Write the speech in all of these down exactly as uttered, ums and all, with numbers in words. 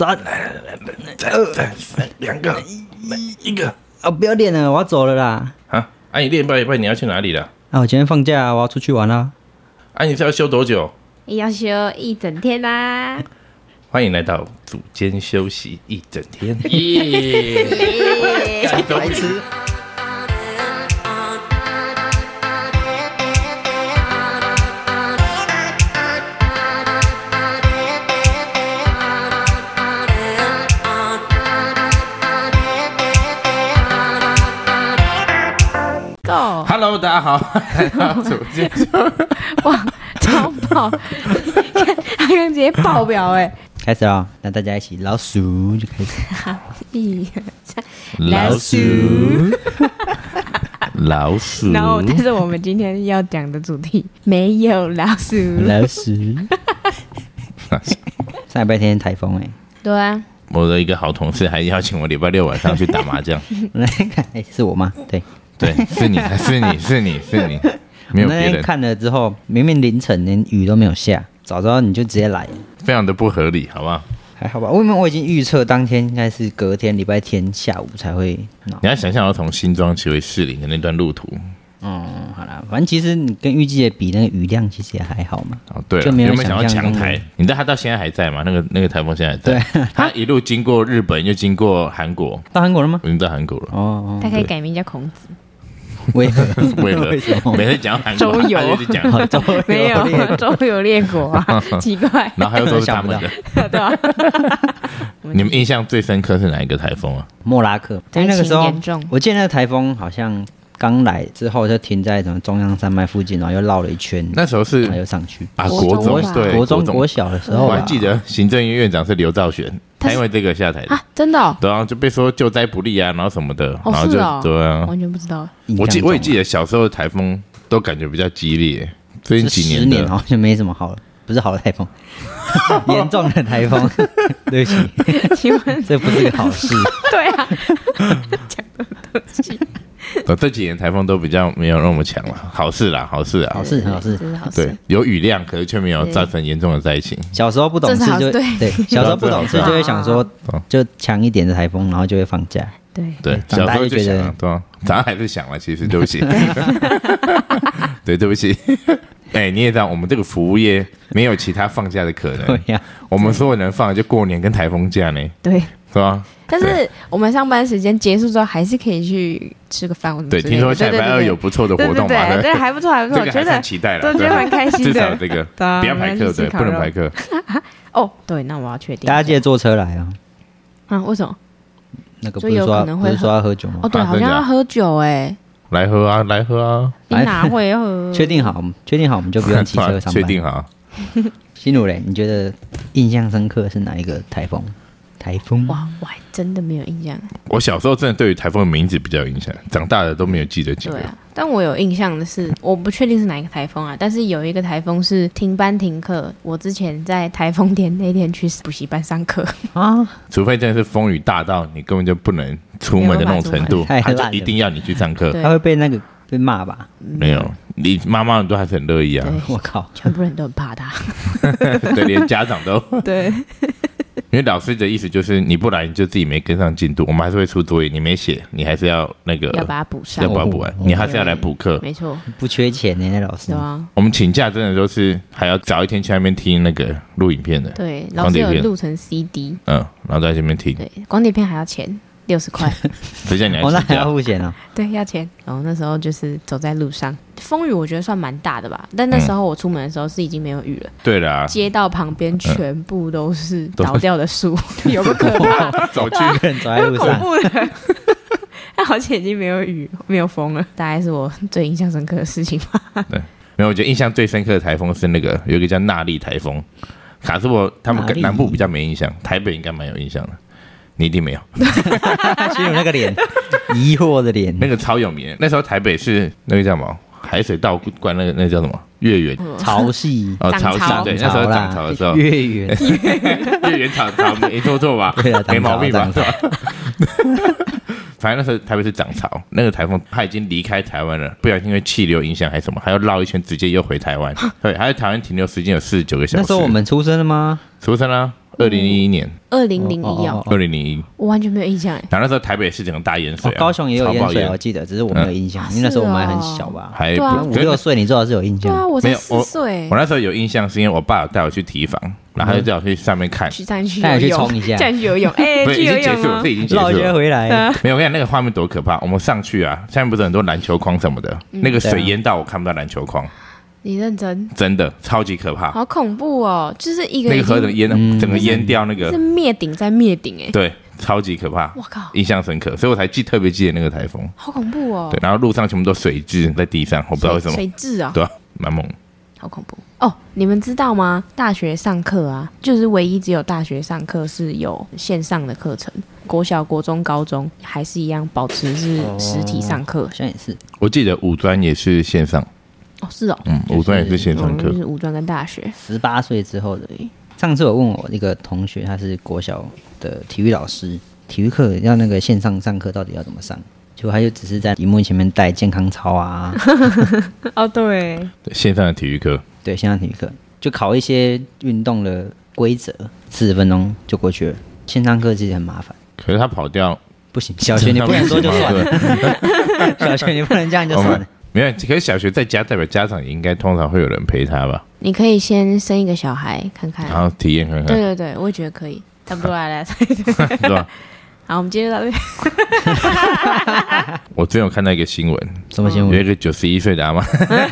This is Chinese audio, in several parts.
三， 再再两个，一个啊！不要练了，我要走了啦。 啊！啊，你练半一半你要去哪里了？ 啊，我今天放假，我要出去玩啦。 啊，你是要休多久？ 要休一整天啦。 欢迎来到组间休息一整天。耶！ 白痴。 Hello， 大家好，来到组间休息。 哇，超爆！他刚直接爆表哎、欸！ 开始了，那大家一起老鼠就开始。 一二三， 老鼠，老鼠。 然后，但是我们今天要讲的主题没有老鼠。 老鼠。上礼拜天台风哎、欸。 对啊。 我的一个好同事还邀请我礼拜六晚上去打麻将。 来看，哎，是我吗？对。 对，是你，是你，是你，是你，没有别人。 那天看了之后，明明凌晨连雨都没有下，早知道你就直接来， 非常的不合理，好不好？ 还好吧，因为我已经预测当天应该是隔天礼拜天下午才会。 你要想象要从新庄骑回士林的那段路途。 嗯，好啦，反正其实你跟预计的比，那个雨量其实也还好嘛。 哦，对了， 就没有有没有想要想象强台？你知道他到现在还在吗？那个那个台风现在还在。 对， 他一路经过日本，又经过韩国。 到韩国了吗？ 已经到韩国了。 哦， 他可以改名叫孔子。 为何？ 为何？ 为什么？ 每次讲韩国， 周游他就是讲周游没有周游列国啊，奇怪。 然后他又说是他们的， 对啊。 你们印象最深刻是哪一个台风啊？ 莫拉克，因为那个时候严重， 我记得那个台风好像刚来之后就停在什么中央山脉附近，然后又绕了一圈， 那时候是还有上去啊，国中对国中国小的时候， 我还记得行政院院长是刘兆玄，他因为这个下台的啊，真的、哦， 对啊，就被说救灾不力啊，然后什么的， 哦、 然后就、 哦、 对啊， 完全不知道。 我记我也记得小时候的台风都感觉比较激烈，最近几年的十年好像没什么好了，不是好的台风，严重的台风，对不起， 请问这不是个好事。 对啊，讲的东西。 哦、这几年台风都比较没有那么强了，好事啦，好事啊， 好事，好事， 对，有雨量，可是却没有造成严重的灾情。 小时候不懂事就对，对，小时候不懂事就会想说，就强一点的台风，然后就会放假。 对对，小时候就想了，对啊，长大还是想了，其实对不起，对，对不起。哎、欸，你也知道，我们这个服务业没有其他放假的可能。 对呀、啊， 我们所有能放的就过年跟台风假呢。 对， 是吧？ 但是我们上班时间结束之后，还是可以去吃个饭。 对，听说下礼拜二有不错的活动嘛， 对对 对, 对，还不错，还不错， 这个还很期待了， 我觉得蛮开心的。 至少这个不要排课，对，不能排课。 哦，对，那我要确定。 大家记得坐车来啊！ 啊，为什么？ 那个不是说不是说要喝酒吗？ 哦，对，好像要喝酒哎。 来喝啊，来喝啊！ 你哪会喝？ 确定好，确定好，我们就不用骑车上班。 确定好。 心如嘞，你觉得印象深刻是哪一个台风？台风？ 哇，我还真的没有印象。 我小时候真的对于台风的名字比较有印象，长大了都没有记得几个。 对啊，但我有印象的是，我不确定是哪一个台风啊，但是有一个台风是停班停课。我之前在台风天那天去补习班上课啊， 除非真的是风雨大到你根本就不能出门的那种程度，他就一定要你去上课， 他会被那个被骂吧？ 没有，你妈妈都还是很乐意啊。 我靠， 全部人都很怕他， 对，连家长都对。 因为老师的意思就是你不来你就自己没跟上进度，我们还是会出作业，你没写你还是要那个要把它补上， 要把它补完，你还是要来补课， 没错， 不缺钱呢，那老师。 对啊， 我们请假真的都是还要早一天去那边听那个录影片的， 对，老师有录成 C D， 嗯，然后在这边听， 对，光碟片还要钱。六十块， 谁叫你来？ 哦，那还要付钱哦。 对，要钱。然后那时候就是走在路上，风雨我觉得算蛮大的吧。但那时候我出门的时候是已经没有雨了。 对啦， 街道旁边全部都是倒掉的树，有个可怕。 走去走在路上， 恐怖的。但好像已经没有雨，没有风了，大概是我最印象深刻的事情吧。 对，没有，我觉得印象最深刻的台风是那个有一个叫纳莉台风，卡斯我他们南部比较没印象，台北应该蛮有印象的。你一定没有， 心有那个脸，疑惑的脸， 那个超有名。那时候台北是那个叫什么海水倒灌，那个那个叫什么月圆潮汐哦，潮汐对，那时候涨潮的时候， 月圆月圆涨潮没错错吧？ 对啊， 没毛病吧？反正那时候台北是涨潮，那个台风它已经离开台湾了，不小心因为气流影响还是什么，还要绕一圈直接又回台湾。对，还在台湾停留时间有四十九个小时。 那时候我们出生了吗？ 出生了、啊。 二零零一年， 二零零一哦， 二零零一， 我完全没有印象哎。 然后那时候台北市整个大淹水、啊哦，高雄也有淹水，我记得，只是我没有印象，嗯、因为那时候我们还很小吧， 还五六岁，你最好是有印象。 对啊，我才四岁。 我那时候有印象，是因为我爸有带我去堤防，然后他就叫我去上面看， 去上去带我去冲一下， 带去游泳，哎，去游泳吗？这已经结束了， 绕街回来。 没有，我跟你讲那个画面多可怕！我们上去啊，下面不是很多篮球框什么的，嗯、那个水淹到我看不到篮球框。 你认真？ 真的超级可怕， 好恐怖哦！就是一个那个河整淹，嗯、整个淹掉那个是灭顶在灭顶哎， 对，超级可怕！ 我靠， 印象深刻，所以我才记特别记得那个台风， 好恐怖哦！ 对，然后路上全部都水蛭在地上，我不知道为什么水蛭啊， 对啊，蛮猛， 好恐怖哦！你们知道吗？大学上课啊，就是唯一只有大学上课是有线上的课程，国小、国中、高中还是一样保持是实体上课， 好像也是。 我记得五专也是线上。 哦，是哦， 嗯，五专也是线上课， 就是五专跟大学。 十八岁之后的。上次我问我一个同学，他是国小的体育老师，体育课要那个线上上课到底要怎么上？结果他就只是在荧幕前面带健康操啊。 哦，对， 线上的体育课， 对，线上体育课就考一些运动的规则，四十分钟就过去了。线上课其实很麻烦， 可是他跑掉不行，小学你不能说就算了，小学你不能这样就算了。 没有，可是小学在家代表家长也应该通常会有人陪他吧？ 你可以先生一个小孩看看， 然后体验看看。 对对对，我也觉得可以，差不多来来， 对吧？ 好，我们接着到这。 我最近有看到一个新闻， 什么新闻？ 有一个九十一岁的阿嬷，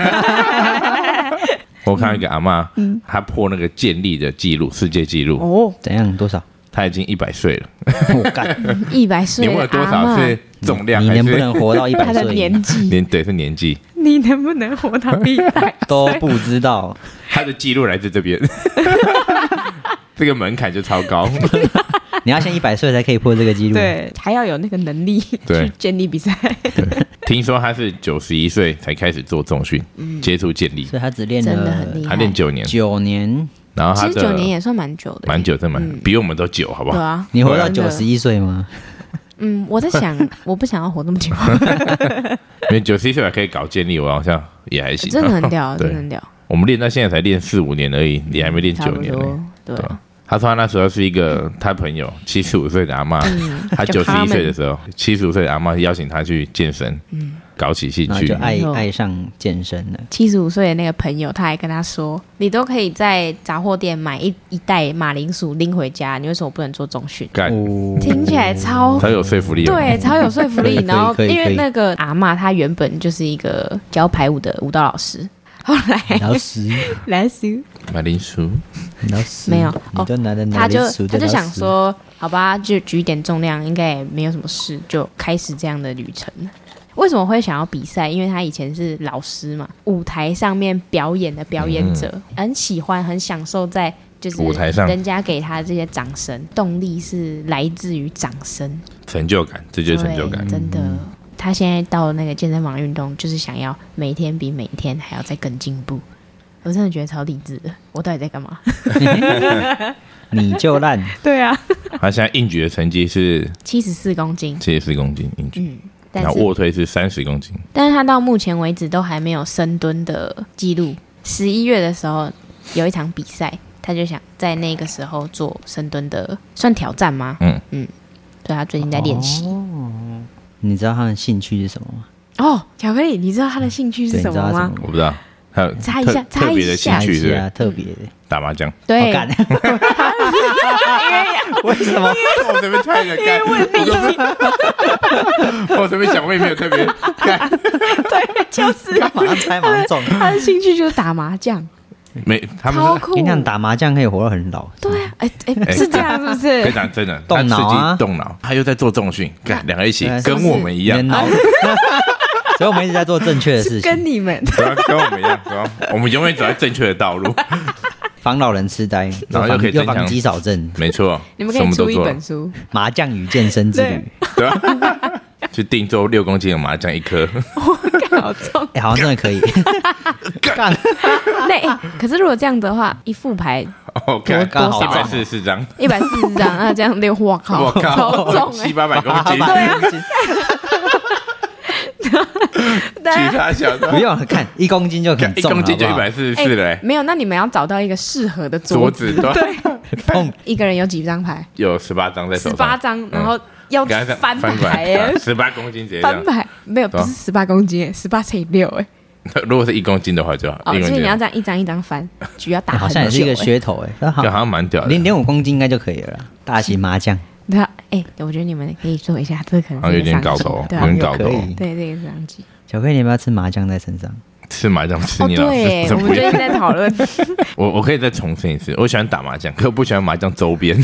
我看到一个阿嬷，嗯，她破那个健力的记录，世界纪录。 哦， 怎样？多少？ 他已经一百岁了， 我干， 一百岁， 你问了多少是重量？ 你能不能活到一百岁？ 他的年纪， 年对是年纪， 你能不能活到一百都不知道。 他的记录来自这边，这个门槛就超高。 你要先一百岁才可以破这个记录， 对，还要有那个能力去健力比赛。 听说他是九十一岁才开始做重训，嗯、接触健力， 所以他只练了， 真的很厉害， 他练九年， 九年。 然后他其实九年也算蛮久的， 蛮久，真蛮、嗯、比我们都久，好不好？ 对啊， 你活到九十一岁吗？ 嗯，我在想，我不想要活那么久。 因为九十一岁还可以搞健力，我好像也还行， 真的很屌，真的很屌。 我们练到现在才练四五年而已，你还没练九年呢。 对。 他说他那时候是一个他朋友七十五岁的阿嬷，嗯、他九十一岁的时候，七十五岁的阿嬷邀请他去健身，嗯、搞起兴趣， 就爱爱上健身了。 七十五岁的那个朋友，他还跟他说：“你都可以在杂货店买一一袋马铃薯拎回家，你为什么不能做重训？” 干， 听起来超超有说服力， 对，超有说服力。然后因为那个阿嬷她原本就是一个教排舞的舞蹈老师。后来老师， 老师， 马铃薯， 老师没有哦， 他就他就想说，好吧，就举一点重量，应该也没有什么事，就开始这样的旅程。为什么会想要比赛？因为他以前是老师嘛，舞台上面表演的表演者，嗯、很喜欢，很享受在就是舞台上人家给他这些掌声，动力是来自于掌声， 成就感，这就是成就感， 真的。嗯他现在到那个健身房运动，就是想要每天比每天还要再更进步。我真的觉得超励志的。我到底在干嘛？ 你就烂。 对啊。 他现在硬举的成绩是七十四公斤， 七十四公斤硬举。嗯， 然后卧推是三十公斤。 但是他到目前为止都还没有深蹲的记录。十一月的时候有一场比赛，他就想在那个时候做深蹲的，算挑战吗？嗯嗯。所以他最近在练习。 哦，你知道他的兴趣是什么吗？ 哦，巧克力，你知道他的兴趣是什么吗？ 我不知道，他有猜一下， 特别的兴趣是啊，特别的打麻将。 对， 为什么？ 我随便猜一个干，我随便想，我也没有特别干。 对，就是马上猜马上中。 他的兴趣就是打麻将。 没，他们跟你讲，打麻将可以活到很老。 对啊，哎哎，是这样是不是？ 非常真的， 动脑啊， 动脑。他又在做重训，干两个一起，跟我们一样。 所以我们一直在做正确的事情， 跟你们， 跟我们一样，我们永远走在正确的道路。 防老人痴呆， 然后又可以又防肌少症， 没错。 你们可以出一本书《 麻将与健身之旅》， 对吧？去定做六公斤的麻将一颗， 好重， 哎，好像真的可以。干， 那可是如果这样的话，一副牌哦，多多一百四十四张， 一百四十张啊，这样六，我靠， 我靠， 超重， 七八百公斤， 对啊。 举他小的， 不用看一公斤就很重， 一公斤就一百四十四了。 没有，那你们要找到一个适合的桌子，对， 碰一个人有几张牌？ 有十八张在手上， 十八张，然后要给他这样翻翻过来牌耶， 十八公斤直接这样翻牌没有，不是十八公斤耶，十八乘以六哎。 如果是一公斤的话就好， 哦， 一公斤所以你要这样一张一张翻，局要打很久。 好像也是一个噱头哎， 就好像蛮屌的， 零点五公斤应该就可以了啦。大型麻将， 对啊，哎，我觉得你们可以做一下，这可能好像有点搞头， 头， 对啊， 有点搞头。 对，这个是商机。 巧克力，你要不要吃麻酱在身上？ 吃麻将吃哦， 你老对， 师， 我们最近在讨论。 我我可以再重申一次，我喜欢打麻将，可我不喜欢麻将周边。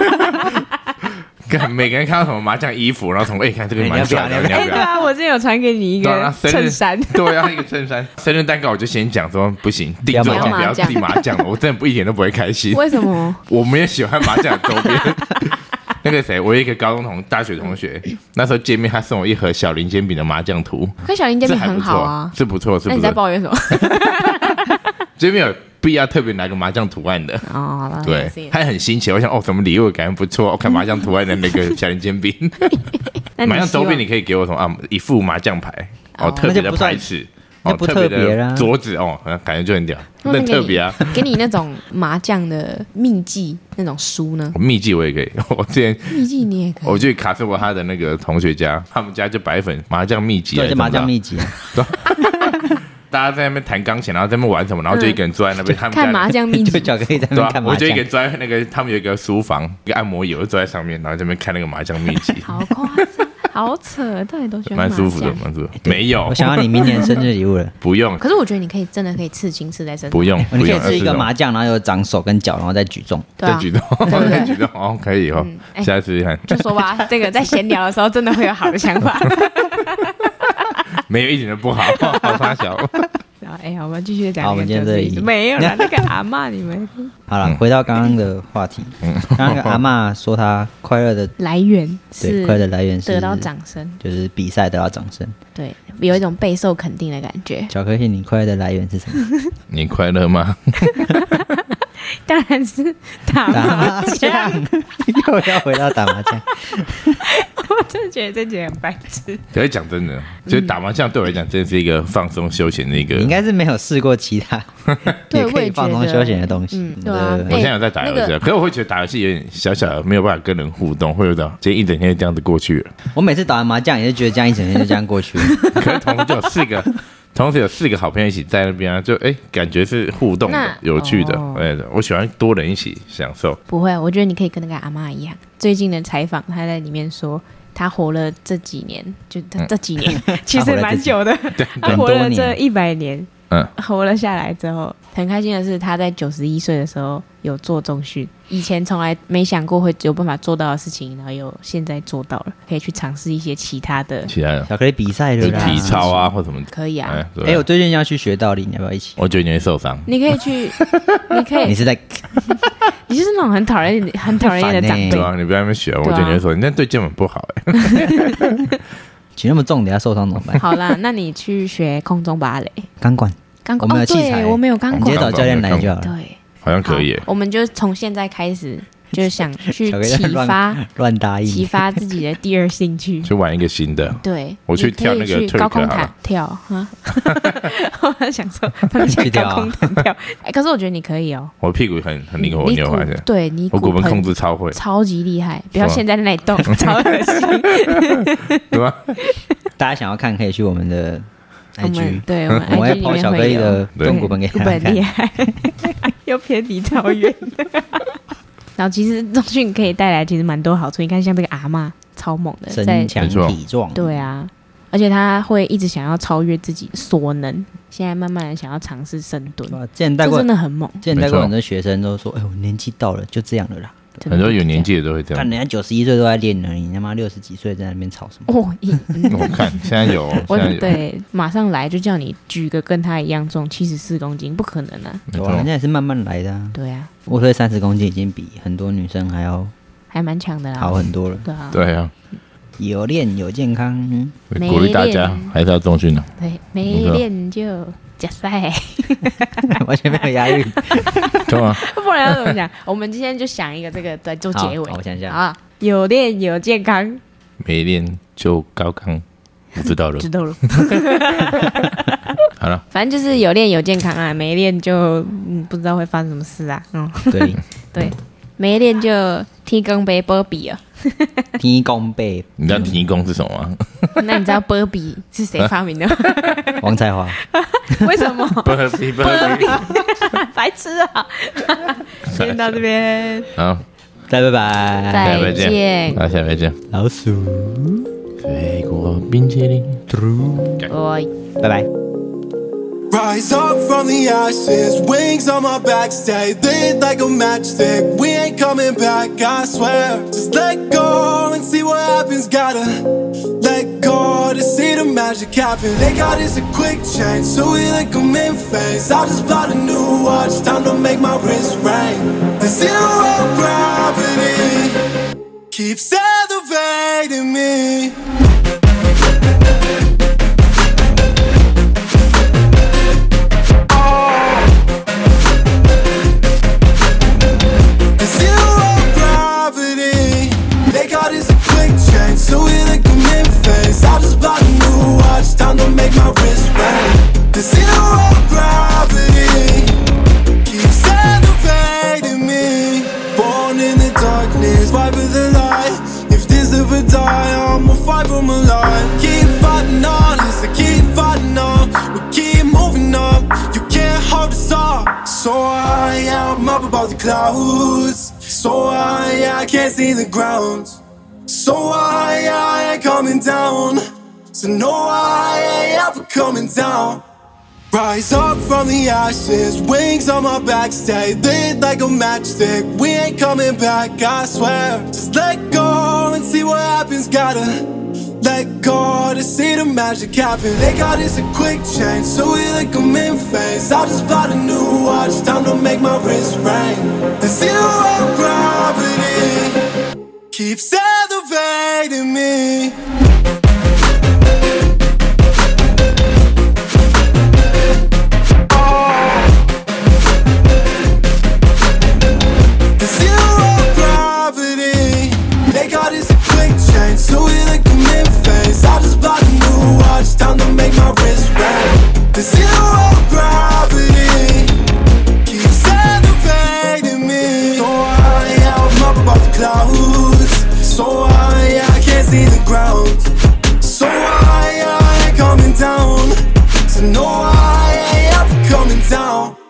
看每个人看到什么麻将衣服，然后从哎、欸、看这个蛮帅的，你要哎， 不要？ 对啊，我之前有传给你一个衬衫， 对啊，一个衬衫。生日蛋糕我就先讲说不行，订最好不要订麻将了，我真的不一点都不会开心。 为什么？ 我们也喜欢麻将的周边。那个谁，我有一个高中同大学同学，那时候见面他送我一盒小林煎饼的麻将图， 可小林煎饼很好啊， 是不错，是不错。 那你在抱怨什么？ 这边有必要特别拿个麻将图案的哦，好了， 对，他很新奇。我想哦，什么礼物感觉不错，我看麻将图案的那个小林煎饼。麻将周边你可以给我什么啊？一副麻将牌哦，特别的牌子。哦， 不特别的桌子哦，感觉就很屌，很特别啊！ 给你那种麻将的秘籍那种书呢？ 秘籍我也可以，我之前秘籍你也可以。 我去卡斯伯他的那个同学家，他们家就摆一本麻将秘籍， 对，就麻将秘籍。 大家在那边弹钢琴，然后在那边玩什么，然后就一个人坐在那边，他们看麻将秘籍， 就巧克力在那边看麻将。 我就一个人坐在那个，他们有一个书房，一个按摩椅，我就坐在上面，然后在那边看那个麻将秘籍。 好夸张。好扯，到底都喜欢蛮舒服的，蛮舒服。没有， 我想要你明年生日礼物了。 不用。 可是我觉得你可以真的可以刺青刺在身上。 不用， 你可以吃一个麻将，然后有长手跟脚，然后再举重。 对， 举重，再举重，哦，可以哦。下次试试看。 就说吧，这个在闲聊的时候真的会有好的想法。 没有一点都不好，好差小。 哎呀，我们继续讲。 好，我们今天这里没有了，那个阿嬷你们。 好了，回到刚刚的话题。刚刚那个阿嬷说她快乐的来源是， 对，快乐的来源是得到掌声， 就是比赛得到掌声。 对，有一种备受肯定的感觉。 巧克力，你快乐的来源是什么？ 你快乐吗？ 当然是打麻将。 又要回到打麻将。 我真的觉得这节很白痴。 可是讲真的，就是打麻将对我来讲，真的是一个放松休闲的一个。 你应该是没有试过其他也可以放松休闲的东西。 嗯，对啊。 我现在有在打游戏，可是我会觉得打游戏有点小小的没有办法跟人互动，会有种今天一整天就这样子过去了。 我每次打完麻将也是觉得这样一整天就这样过去了。 可是同时就有四个。同时有四个好朋友一起在那边啊，就哎、欸，感觉是互动的、有趣的。哎、哦，我喜欢多人一起享受。 不会，我觉得你可以跟那个阿嬷一样。最近的采访，他在里面说，他活了这几年，就他这几年、嗯、其实蛮久的。他活了这一百年，嗯，活了下来之后，很开心的是，他在九十一岁的时候有做重训。以前从来没想过会有办法做到的事情，然后有现在做到了，可以去尝试一些其他的、 其他的巧克力比赛的体操啊，或什么可以啊。 哎、欸欸，我最近要去学倒立，你要不要一起？ 我觉得你会受伤。 你可以去，你可以。 你是在？ 你就是那种很讨厌、很讨人厌的长辈。 对啊，你不要在那边学，我觉得你会受，你那对肩膀不好哎、 欸。举那么重，等下受伤怎么办？ 好啦，那你去学空中芭蕾、 钢管。 钢管， 我们有器材、欸哦，我们有钢管， 直接找教练来就好了。 对， 好像可以、欸。 我们就从现在开始。就是想去启发乱答应， 启发自己的第二兴趣， 去玩一个新的。 对， 我去跳那个高空弹跳啊！我想说，去高空弹跳。哎，可是我觉得你可以哦。 我屁股很很灵活，你有发现？ 对你， 我骨盆控制超会， 超级厉害。不要现在那里动，超恶心。 对吧？ 大家想要看，可以去我们的 I G， 对， 我们会抛巧克力的动骨盆给大家看。 厉害，又偏离超远。然后其实重训可以带来其实蛮多好处，你看像这个阿嬷超猛的， 身强体壮， 对啊，而且他会一直想要超越自己所能，现在慢慢的想要尝试深蹲， 之前带过真的很猛。 之前带过很多学生都说，哎，我年纪到了，就这样了啦。 很多有年纪的都会这样， 看人家九十一岁都在练了，你他妈六十几岁在那边吵什么？ 哦， 我看现在有， 我对，马上来就叫你举个跟他一样重七十四公斤，不可能啊！ 哇，人家也是慢慢来的啊。 对啊， 我推三十公斤已经比很多女生还要还蛮强的啦， 好很多了。 对啊， 对啊， 有练有健康， 鼓励大家还是要重训的。 对，没练就假赛， 完全没有押韵。 对啊， 不然要怎么讲？我们今天就想一个这个来做结尾。 我想想啊，有练有健康， 没练就高康，我知道了， 知道了。 好了， 反正就是有练有健康啊，没练就嗯不知道会发生什么事啊。嗯， 对对， 没练就天公杯波比了。 天公杯， 你知道天公是什么吗？ 那你知道波比是谁发明的吗？ 王彩华。 为什么？ 波比波比， 白痴啊！先到这边， 好， 再拜拜， 再见， 好，下回见。 老鼠飞过冰淇淋， 拜拜。 Rise up from the ashes, wings on my back, stay lit like a matchstick. We ain't coming back, I swear. Just let go and see what happens. Gotta let go to see the magic happen. They got us a quick change, so we like them in phase. I just bought a new watch, time to make my wrist ring. The zero gravity keeps elevating me. So we like them in phase. I just bought a new watch, time to make my wrist ring. The zero gravity keeps elevating me. Born in the darkness, fight for the light. If this ever die, I'ma fight for my life. Keep fighting on, yes, I keep fighting on. We keep moving up, you can't hold us up. So high, yeah, I'm up above the clouds. So high, yeah, I can't see the ground. So I, I ain't coming down. So no, I ain't ever coming down. Rise up from the ashes, wings on my back, stay lit like a matchstick. We ain't coming back, I swear. Just let go and see what happens. Gotta let go to see the magic happen. They got us a quick change, so we like them in phase. I just bought a new watch, time to make my wrist ring. The zero gravity keeps elevating me. Oh. The zero gravity, they got us a quick change, so we like them in phase. I just bought a new watch, time to make my wrist ring. The zero gravity keeps elevating me. So I am up above the clouds. So high, I can't see the ground. So high, I ain't coming down. So no, I ain't ever coming down.